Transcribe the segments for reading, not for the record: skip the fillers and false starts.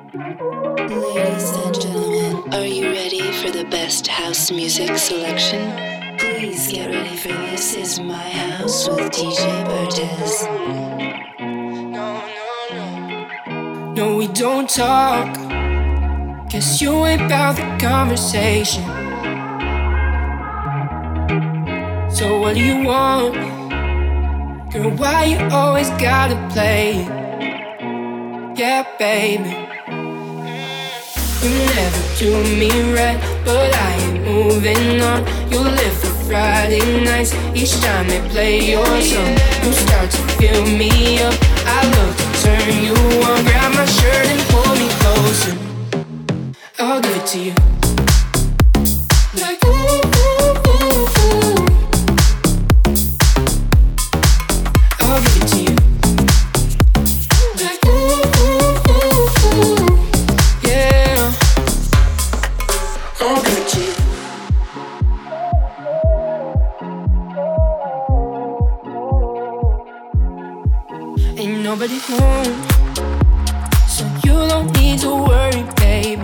Ladies and gentlemen, are you ready for the best house music selection? Please get ready for This Is My House with DJ Bartez. No, we don't talk, 'cause you ain't about the conversation. So what do you want? Girl, why you always gotta play it? Yeah, baby, you never do me right, but I ain't moving on. You live for Friday nights, each time they play your song. You start to fill me up, I love to turn you on. Grab my shirt and pull me closer, I'll give it to you. Like ooh, ooh, ooh, ooh. I'll give it to you. Like ooh, ooh, ooh, ooh. Yeah, I'll give it to you. Ain't nobody home, so you don't need to worry, baby.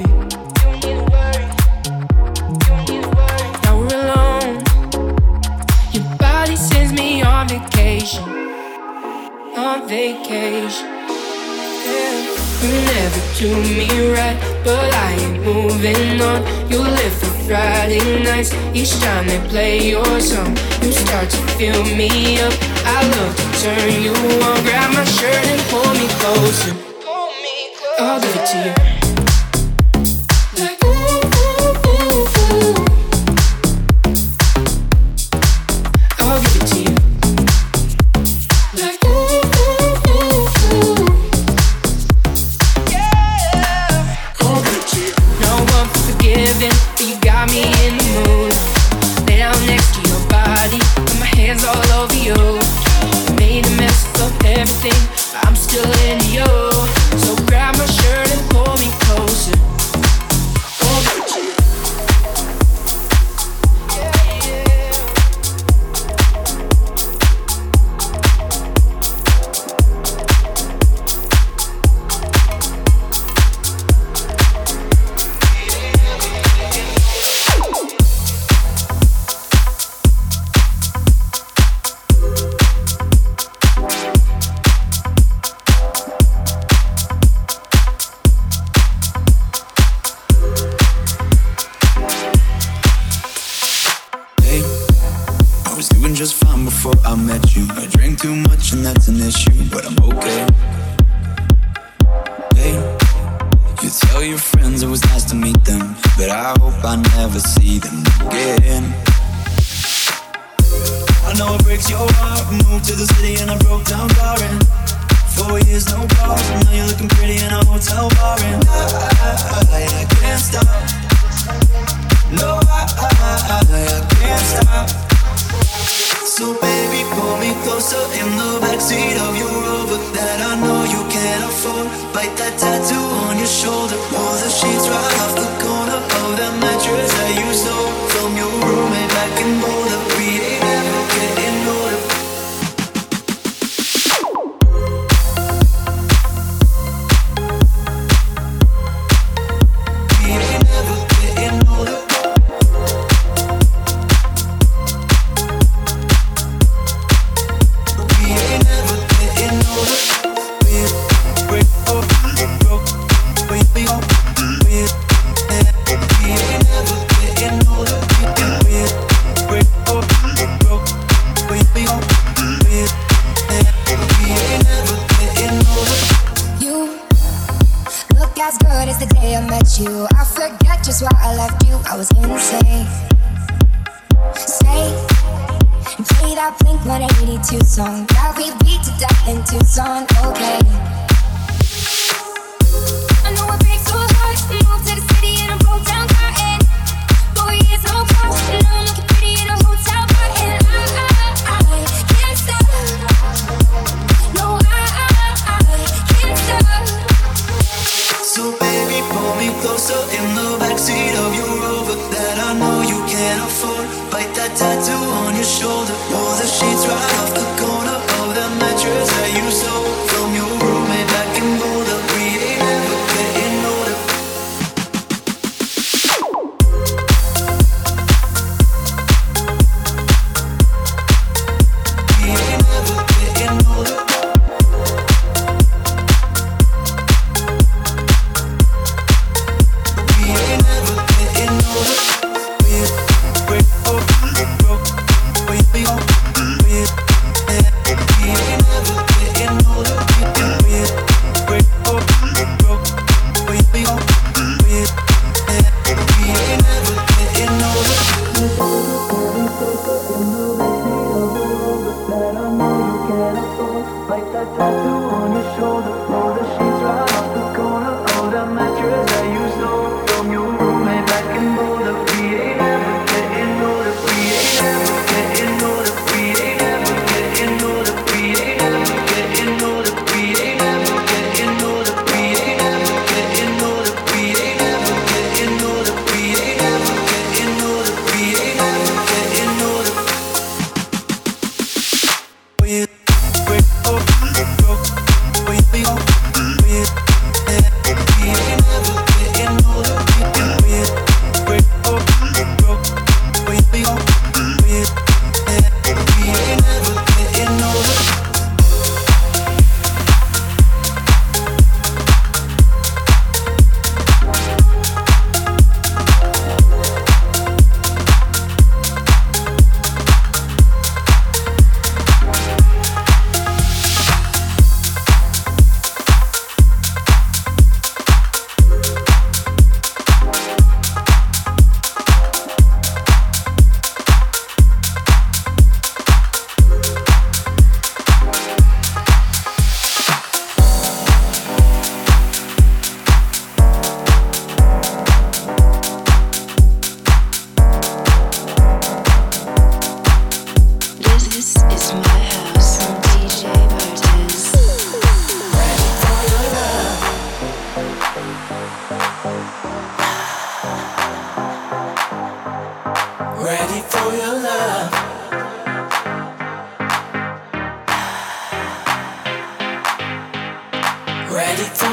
Now we're alone, your body sends me on vacation. On vacation, yeah. You never do me right, but I ain't moving on. You live for Friday nights, each time they play your song. You start to fill me up, I love to turn you on. Grab my shirt and pull me closer, I'll give it to you. Like ooh, ooh, ooh, ooh. I'll give it to you. Like ooh, ooh, ooh, ooh. Yeah, I'll give it to you. No one forgiving, but you got me in the mood. Lay down next to your body, put my hands all over you. Made a mess of everything, but I'm still into you. So grab my shirt and pull me closer, I'll give it to you. Just fine before I met you. I drank too much and that's an issue, but I'm okay. Hey, you tell your friends it was nice to meet them, but I hope I never see them again. I know it breaks your heart. Moved to the city and I broke down barring. 4 years no calls, now you're looking pretty in a hotel bar, and I can't stop. No, I can't stop. So baby, pull me closer in the backseat of your Rover that I know you can't afford. Bite that tattoo on your shoulder, pull the sheets right off the corner of that mattress that you stole from your roommate back in Boulder. We ain't ever getting older. We ain't ever getting older. You, I forget just why I left you. I was insane. Stay and play that Blink-182 song that we beat to death in Tucson. Okay. I know it breaks so hard to move to the city in a broke down car and 4 years no call. And now I'm looking pretty in a hotel bar and I can't stop. No, I can't stop. So baby, pull me closer in the backseat of your Rover that I know you can't afford. Bite that tattoo on your shoulder, pull the sheets right off the corner of that mattress that you stole from your roommate back in Boulder. We ain't ever getting older.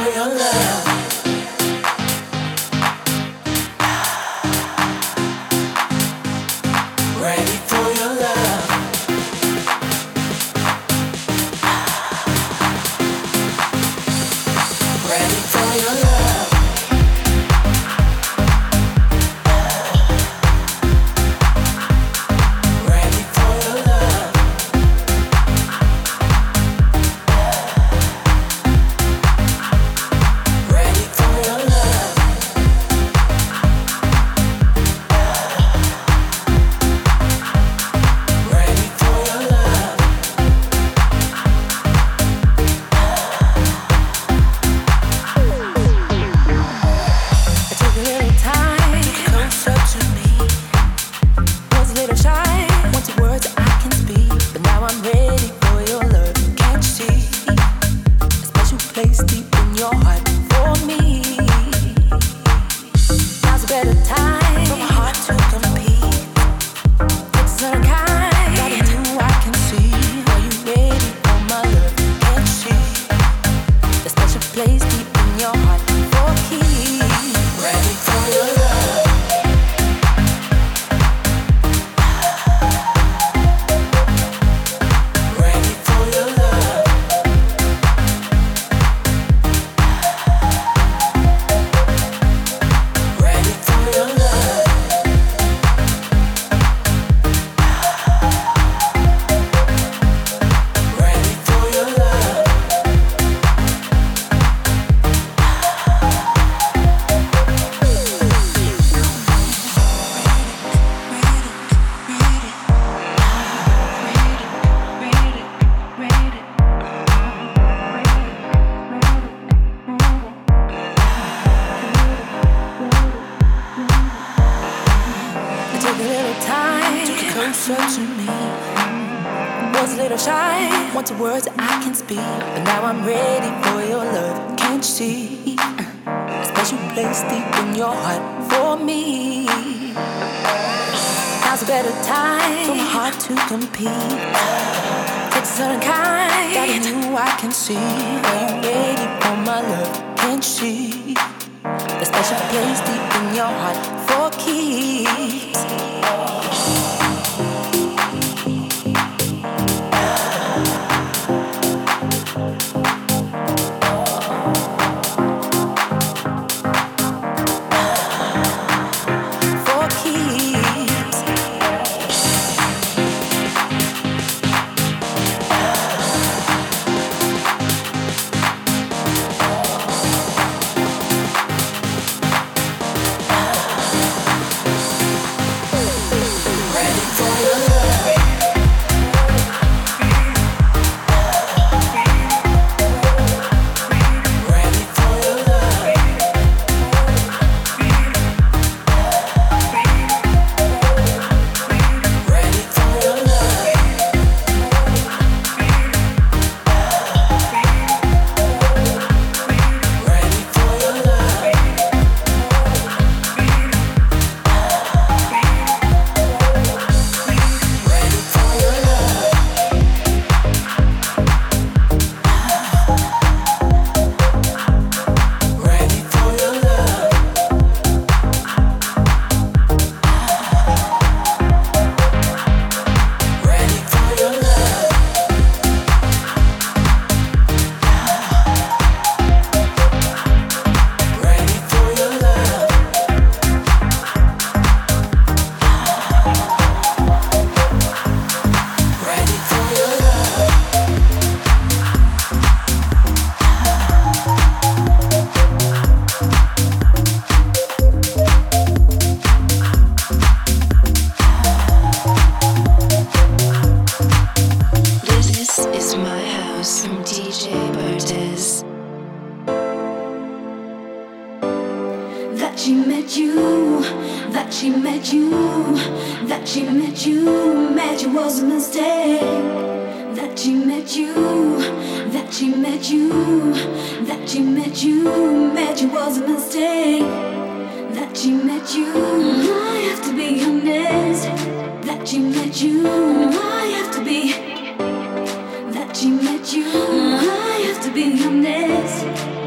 That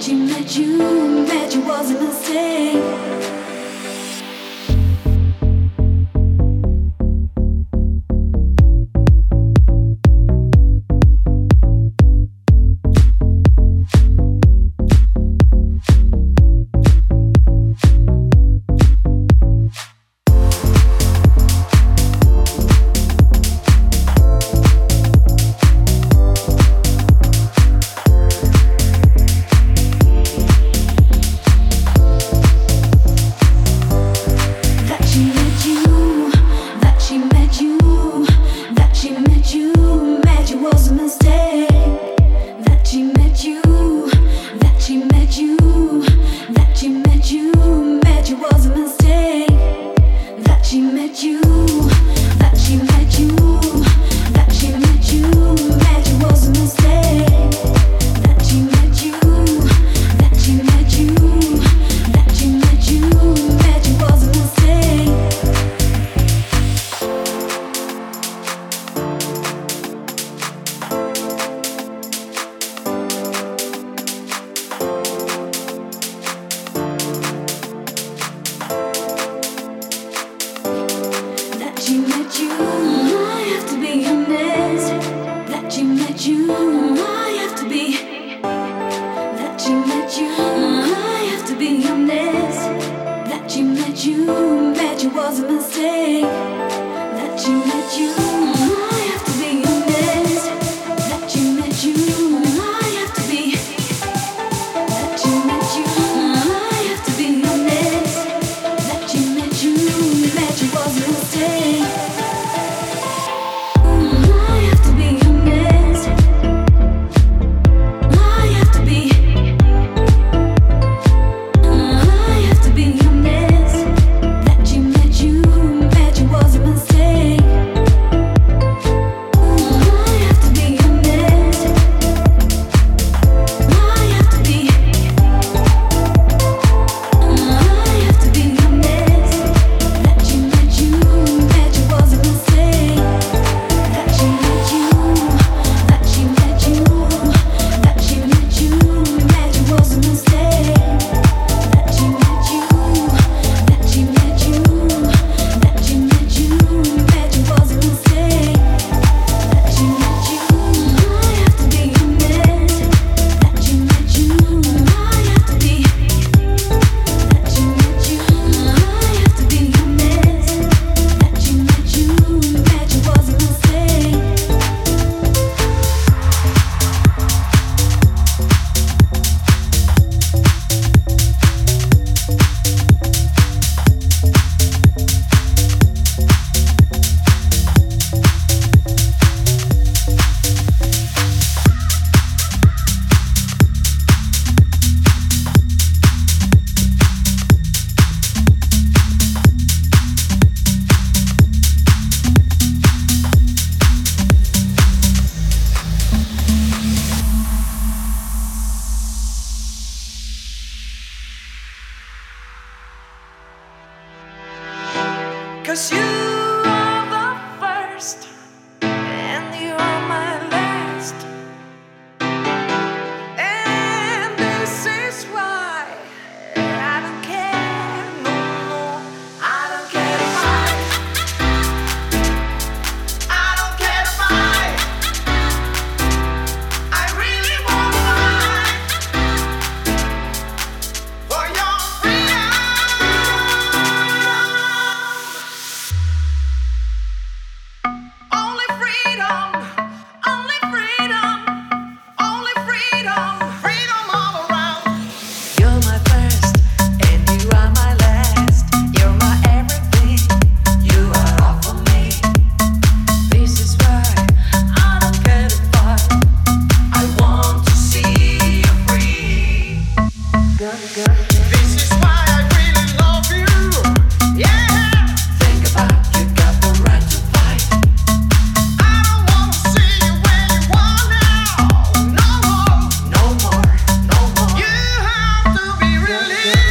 'Cause you are the first and you are my last, and this is why I don't care no more. I don't care if I don't care if I really won't fight for your freedom. Only freedom, only freedom, only freedom, freedom all around. You're my first and you are my last. You're my everything, you are all for me. This is why I don't care to fight. I want to see you free. This is why I really love you. Yeah. Think about you got the right to fight. I don't want to see you where you are now. No more, no more, no more. You have to be released.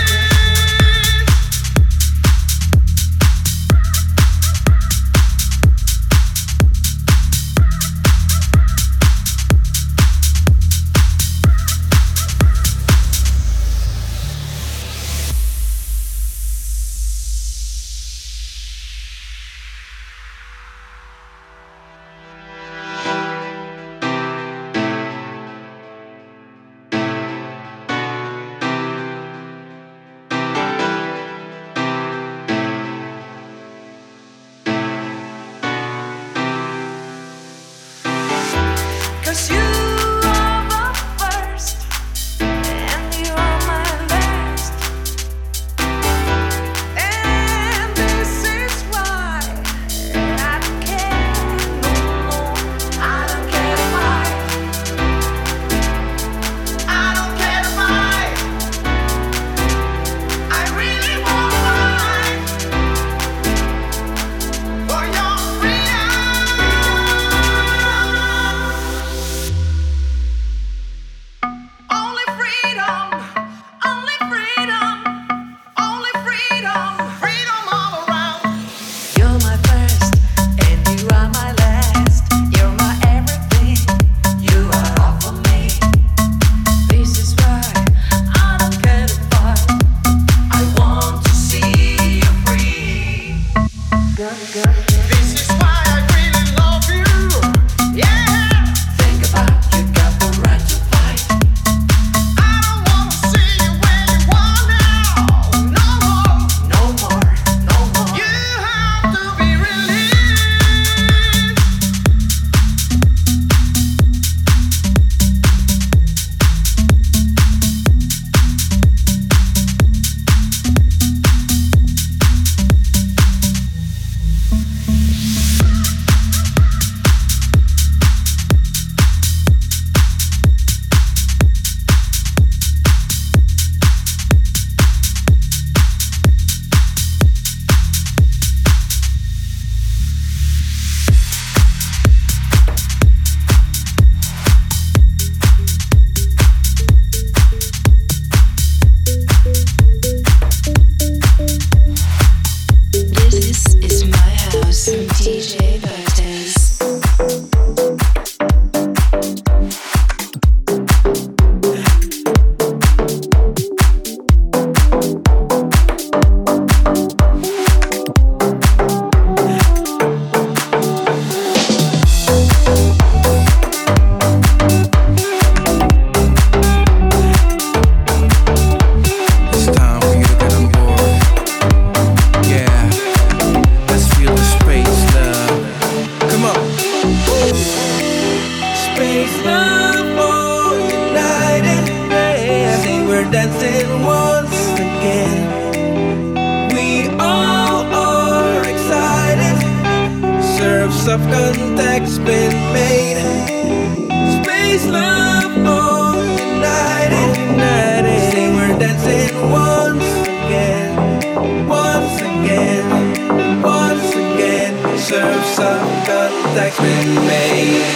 dancing once again. We all are excited. Surfs of contact's been made. Space love all united. Say we're dancing once again. Once again. Once again. Surfs of contact's been made.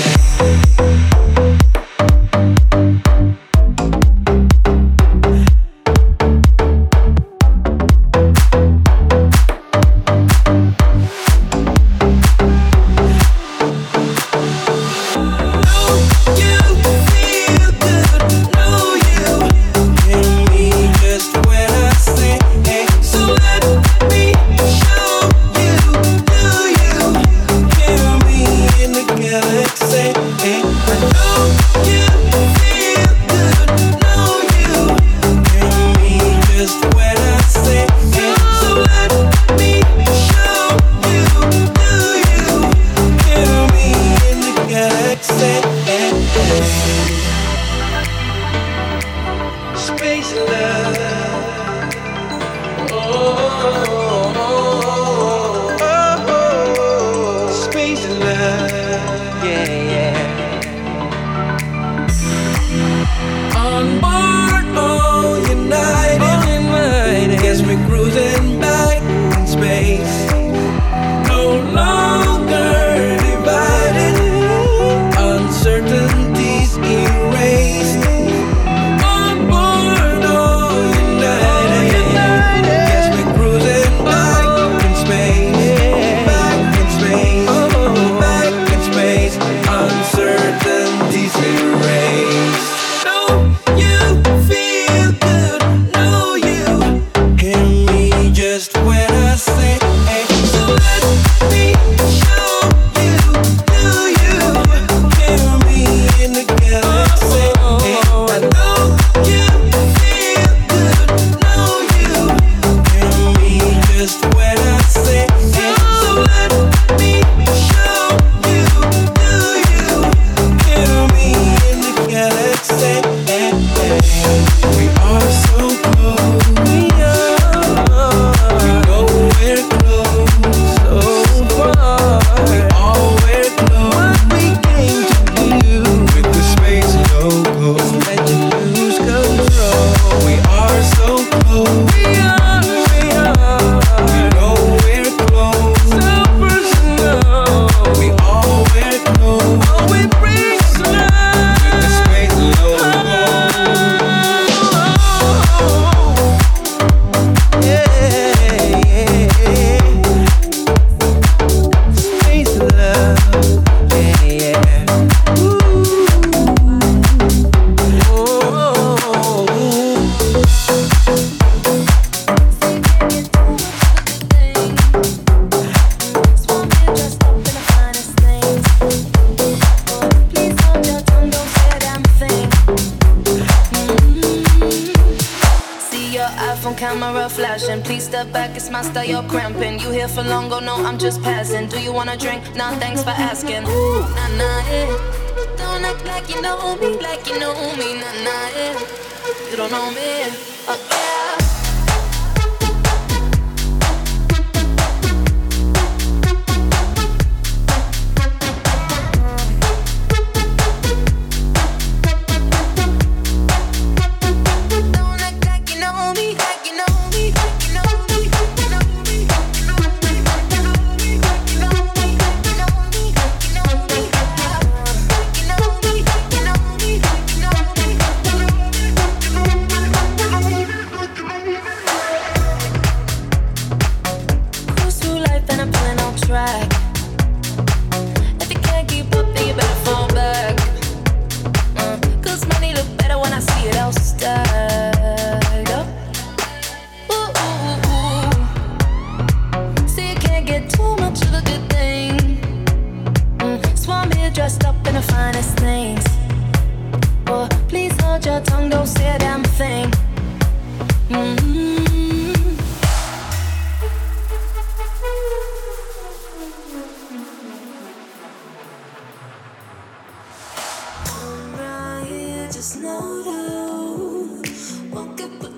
Nah, thanks for asking. Ooh, nah, nah, yeah. Don't act like you know me, like you know me, nah, nah, yeah. You don't know me, oh yeah.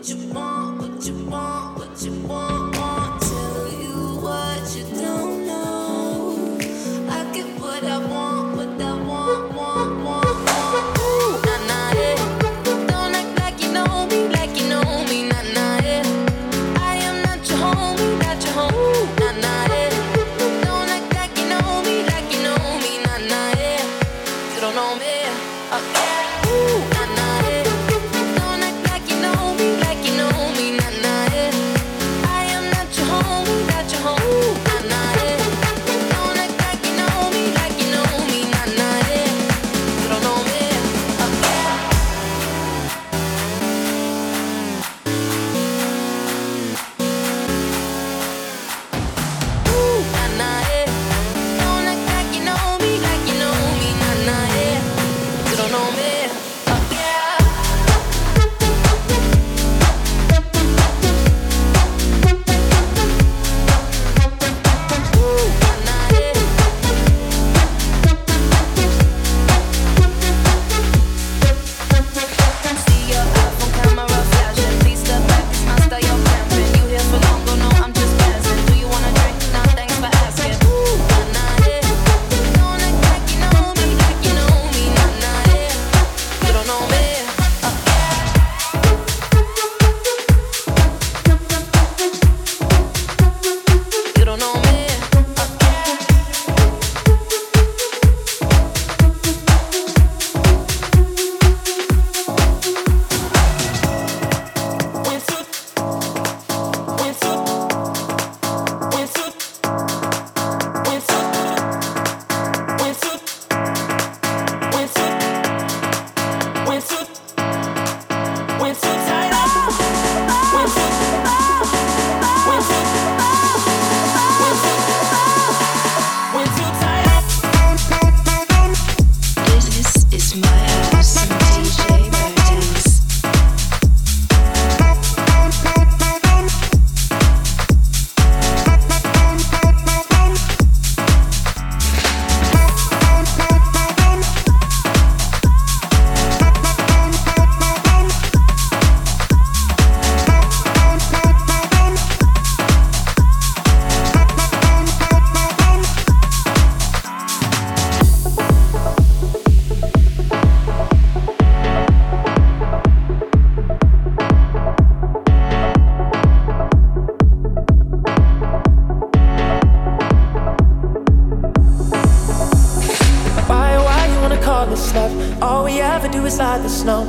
inside the snow.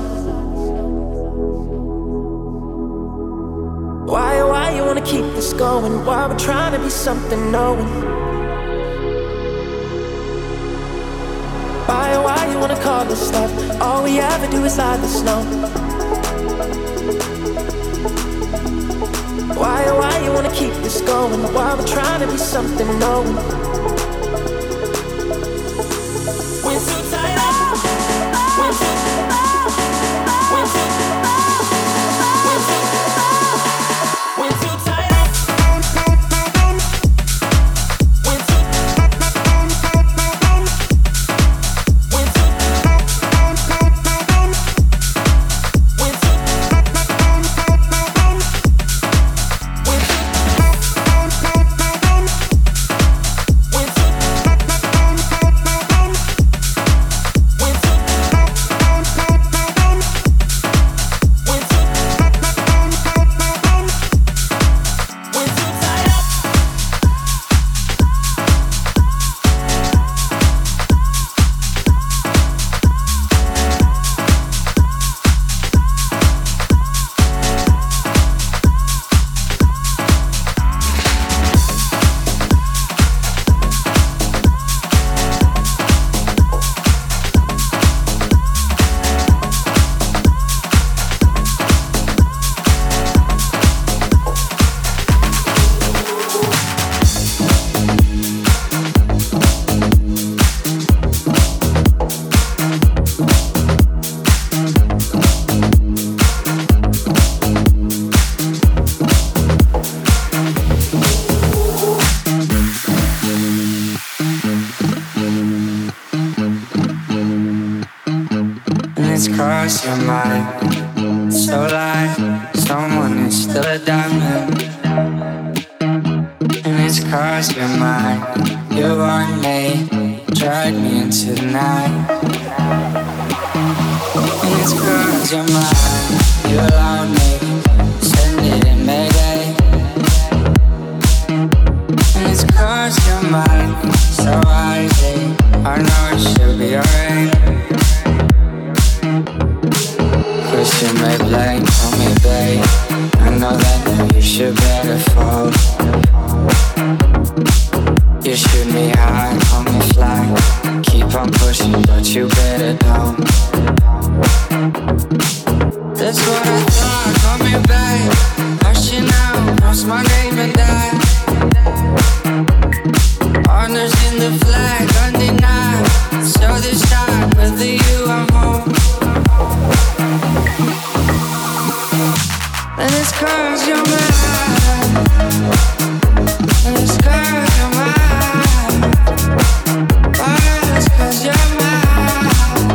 Why you wanna keep this going? Why we're trying to be something knowing? Why you wanna call this love? All we ever do is lie the snow. Why you wanna keep this going? Why we're trying to be something knowing? We're too tired up. We're too cross your mind, so like someone 'cause you're mine. You allowed me, send it in Mayday. And it's 'cause you're mine, so rising. I know it should be alright. 'Cause you may blame on me, babe. I know that you should better fall. You shoot me high, hold me fly. Keep on pushing, but you better don't. That's what I thought, call me babe. Hush you now, cross my name and die. Honors in the flag, undenied. So this time, whether you or home. And it's 'cause you're mine. And it's 'cause you're mine. Oh, it's 'cause you're mine.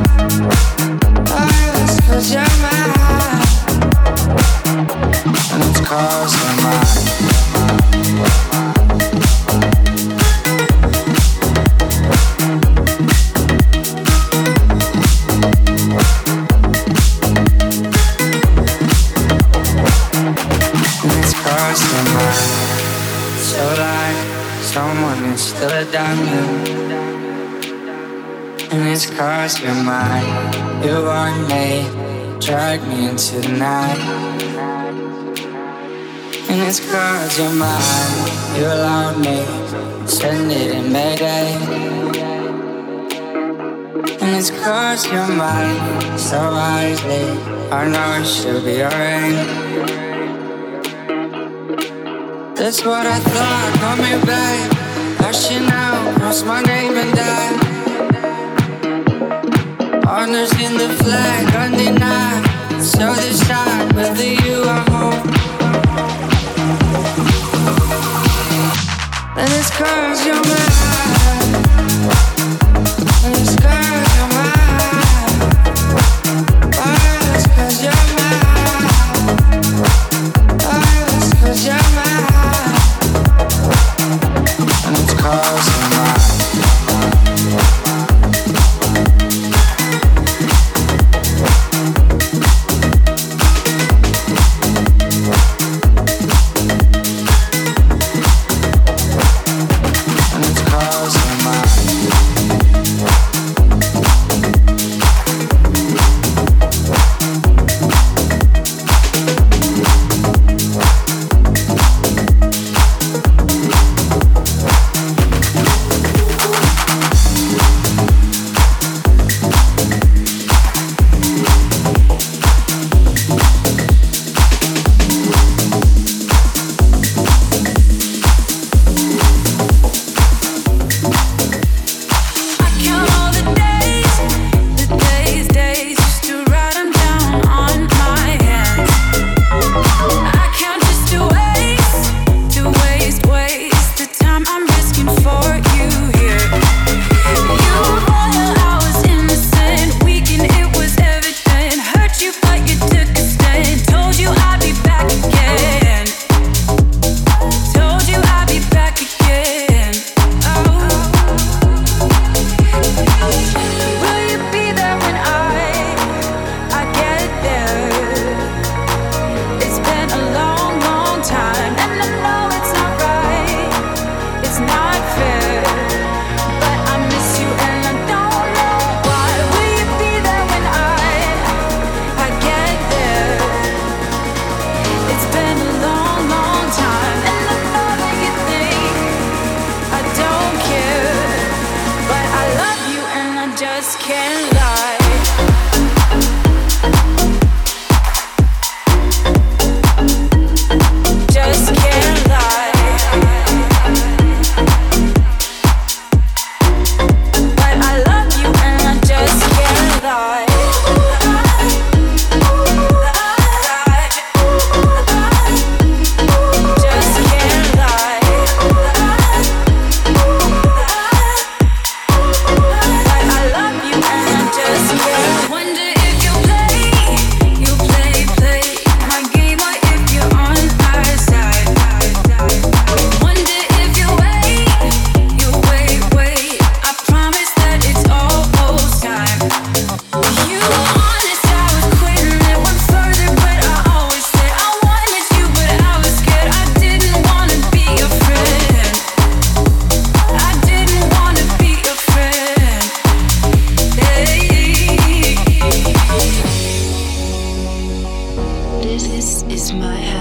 Oh, it's 'cause you're mine. And it's 'cause you're mine. So like someone is still a diamond. And it's 'cause you're mine. You want me, drag me into the night. And it's 'cause you're mine. You allowed me, send it in Mayday. And it's 'cause you're mine, so wisely. I know it should be alright. That's what I thought, call me babe. Hush you now, cross my name and die. Honors in the flag, undenied. So this time, whether you are home. And it's 'cause you're mine. And it's 'cause you're mine. Oh, it's 'cause you're mine. Oh, it's 'cause you're mine. And it's 'cause you're mine.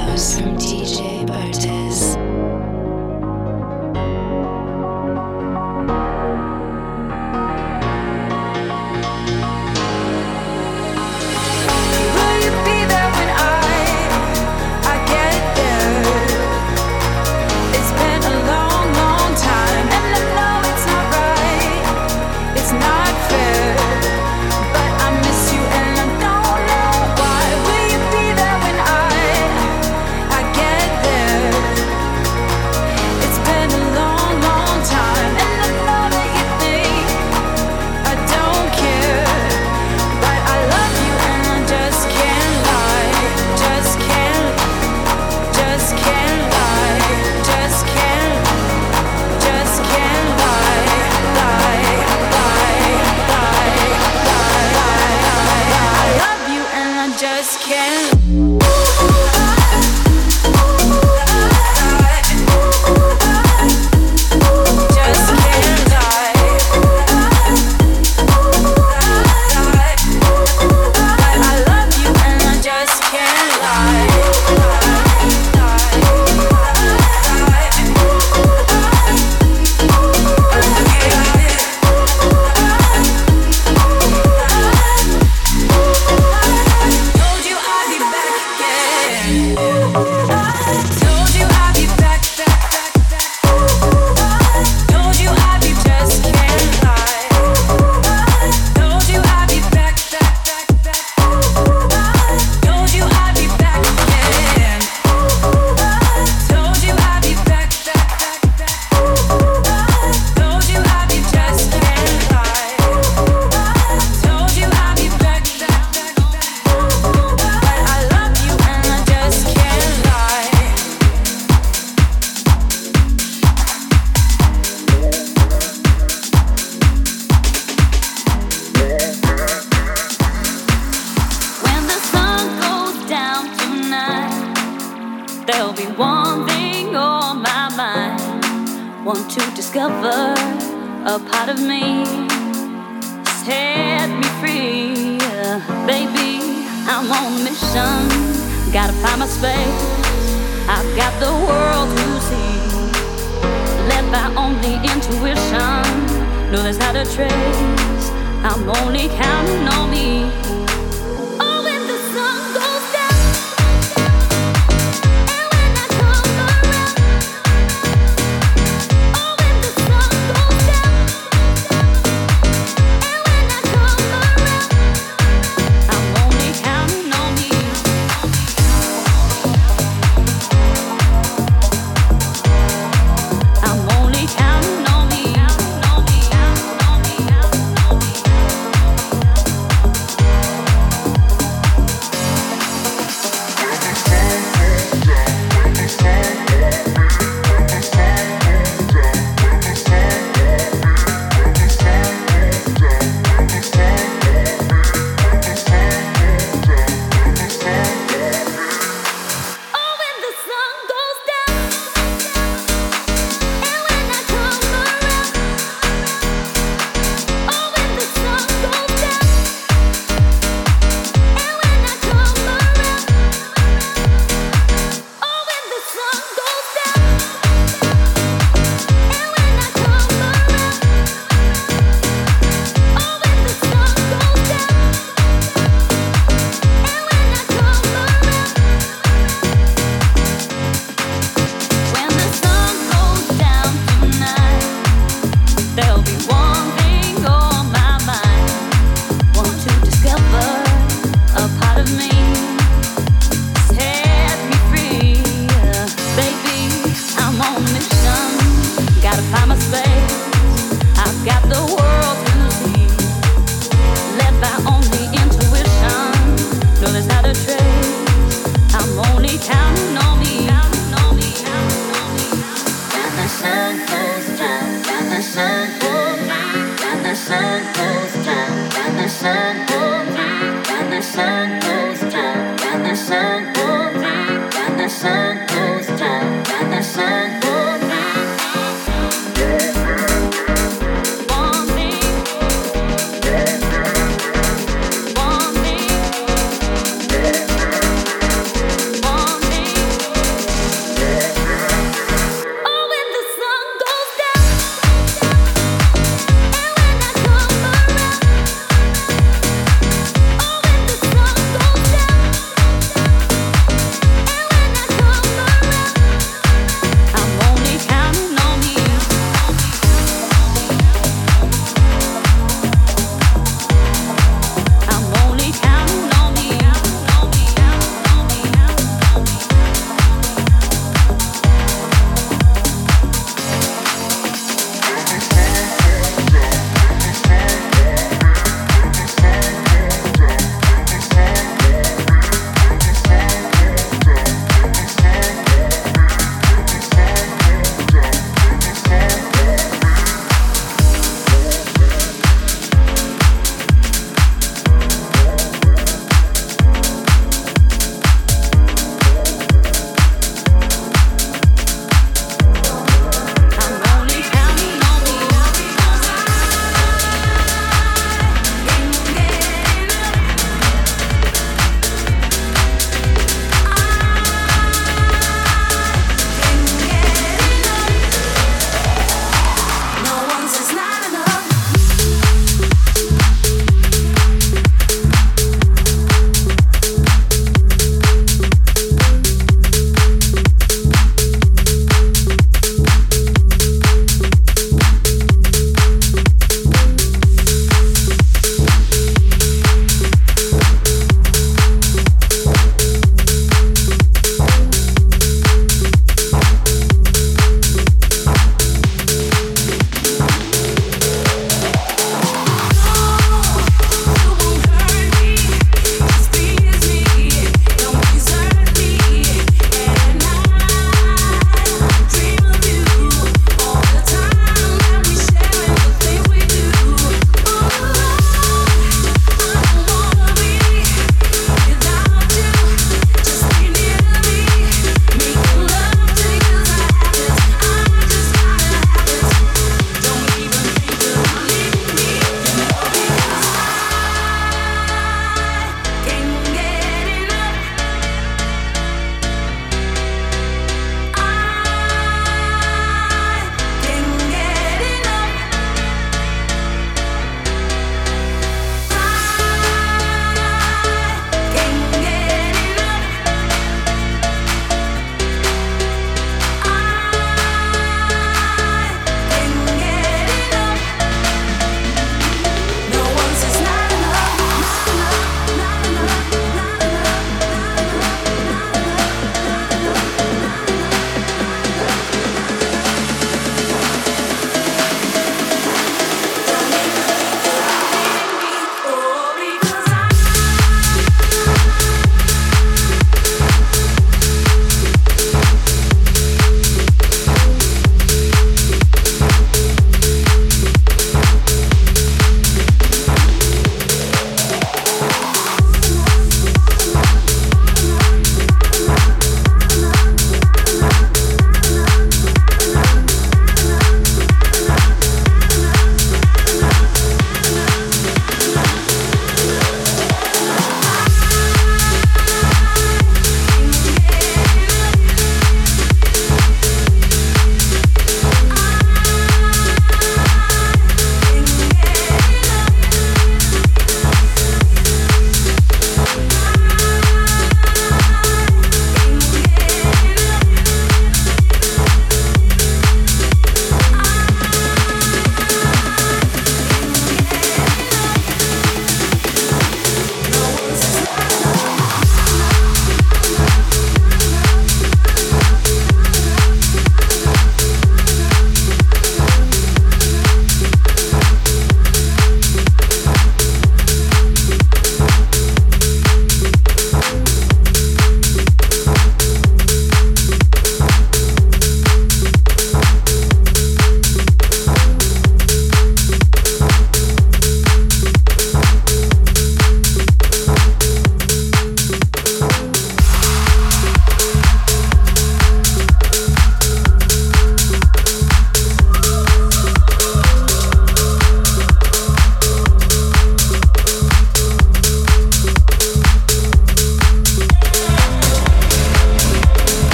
house from DJ Bartez.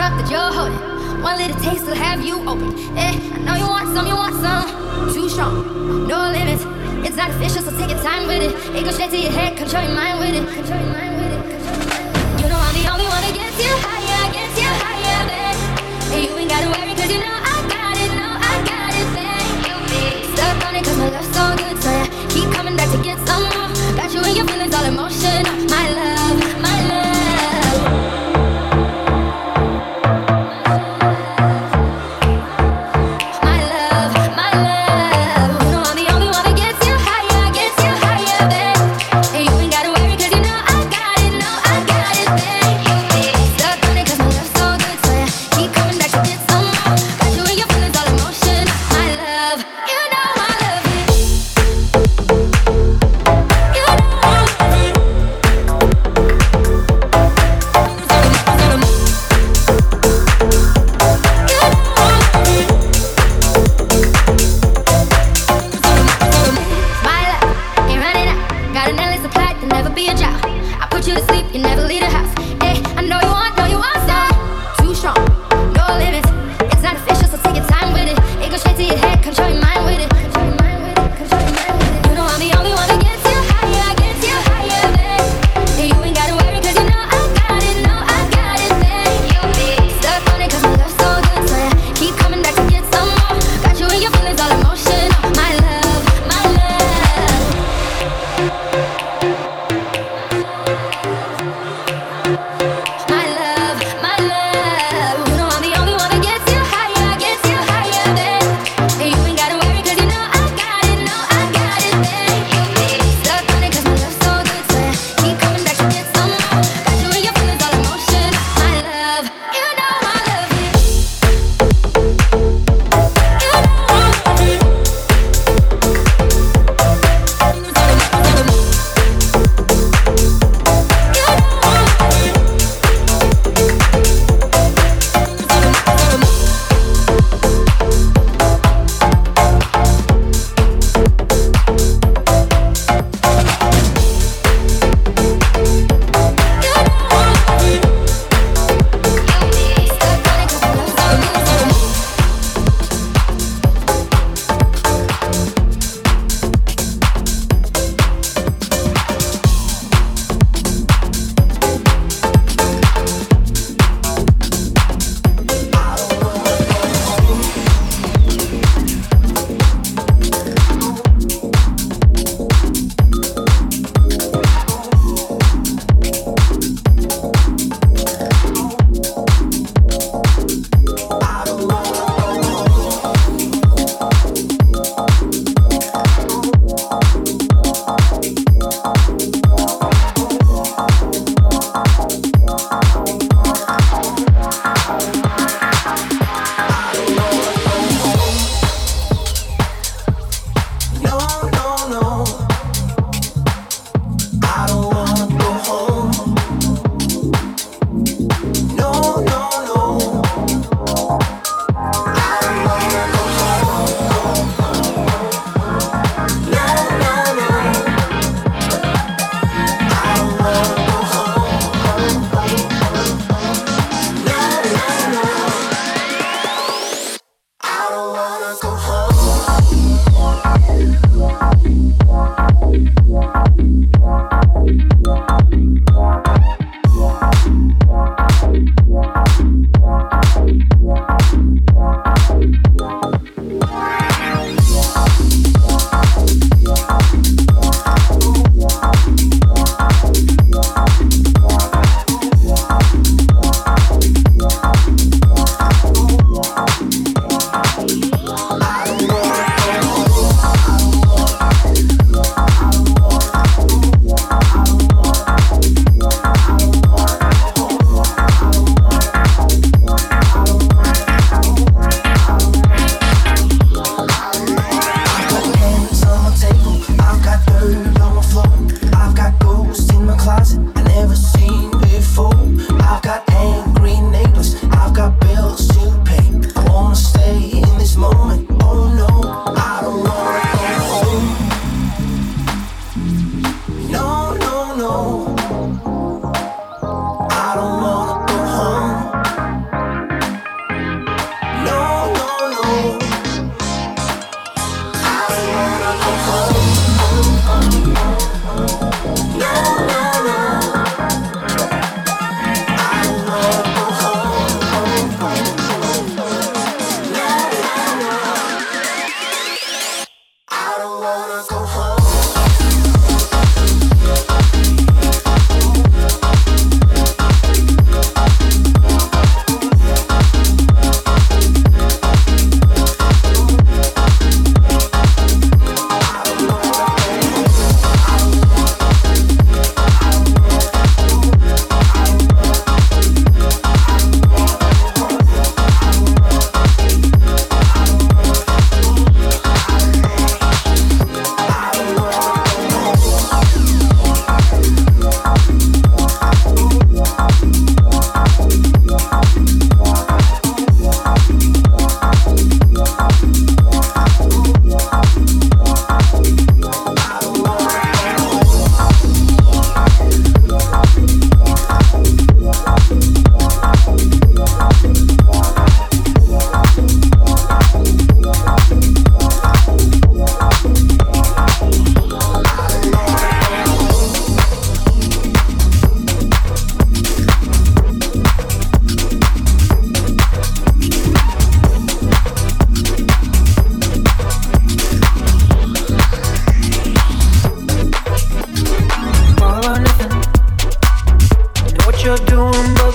cup that you're holding. One little taste will have you open. I know you want some, Too strong, no limits. It's not official, so take your time with it. It goes straight to your head, control your mind with it. You know I'm the only one that gets you higher, babe. You ain't gotta worry, cause you know I got it, babe. Stuck on it cause my love's so good, so yeah, keep coming back to get some more. Got you and your feelings all emotional. My love, my love. My love, my love. You know I'm the only one that gets you higher, babe. And you ain't gotta worry cause you know I got it,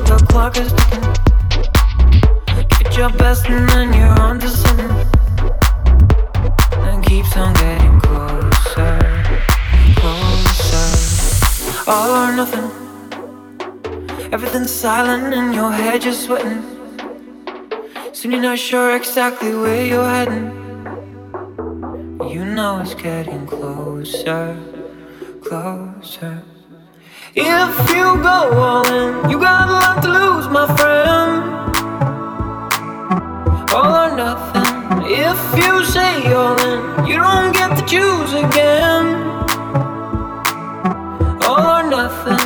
the clock is ticking. Give it your best and then you're on to something. And keeps on getting closer, closer. All or nothing. Everything's silent in your head, you're sweating. Soon you're not sure exactly where you're heading. You know it's getting closer, closer. If you go all in, you got a lot to lose, my friend. All or nothing. If you say all in, you don't get to choose again. All or nothing.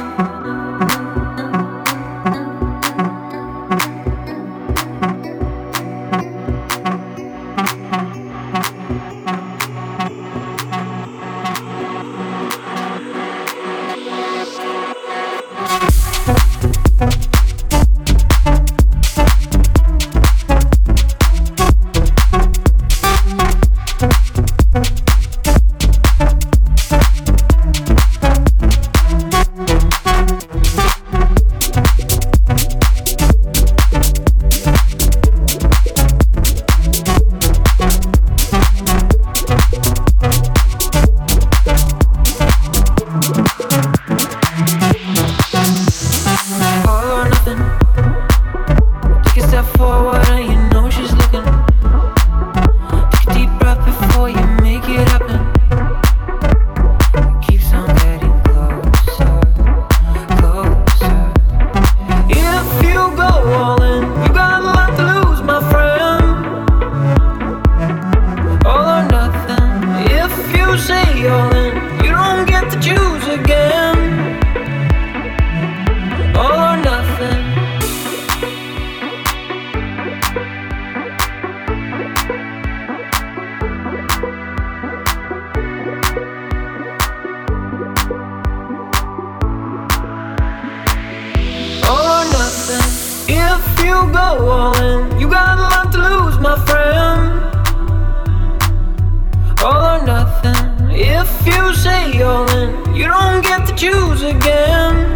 You go all in, you got a lot to lose, my friend. All or nothing. If you say all in, you don't get to choose again.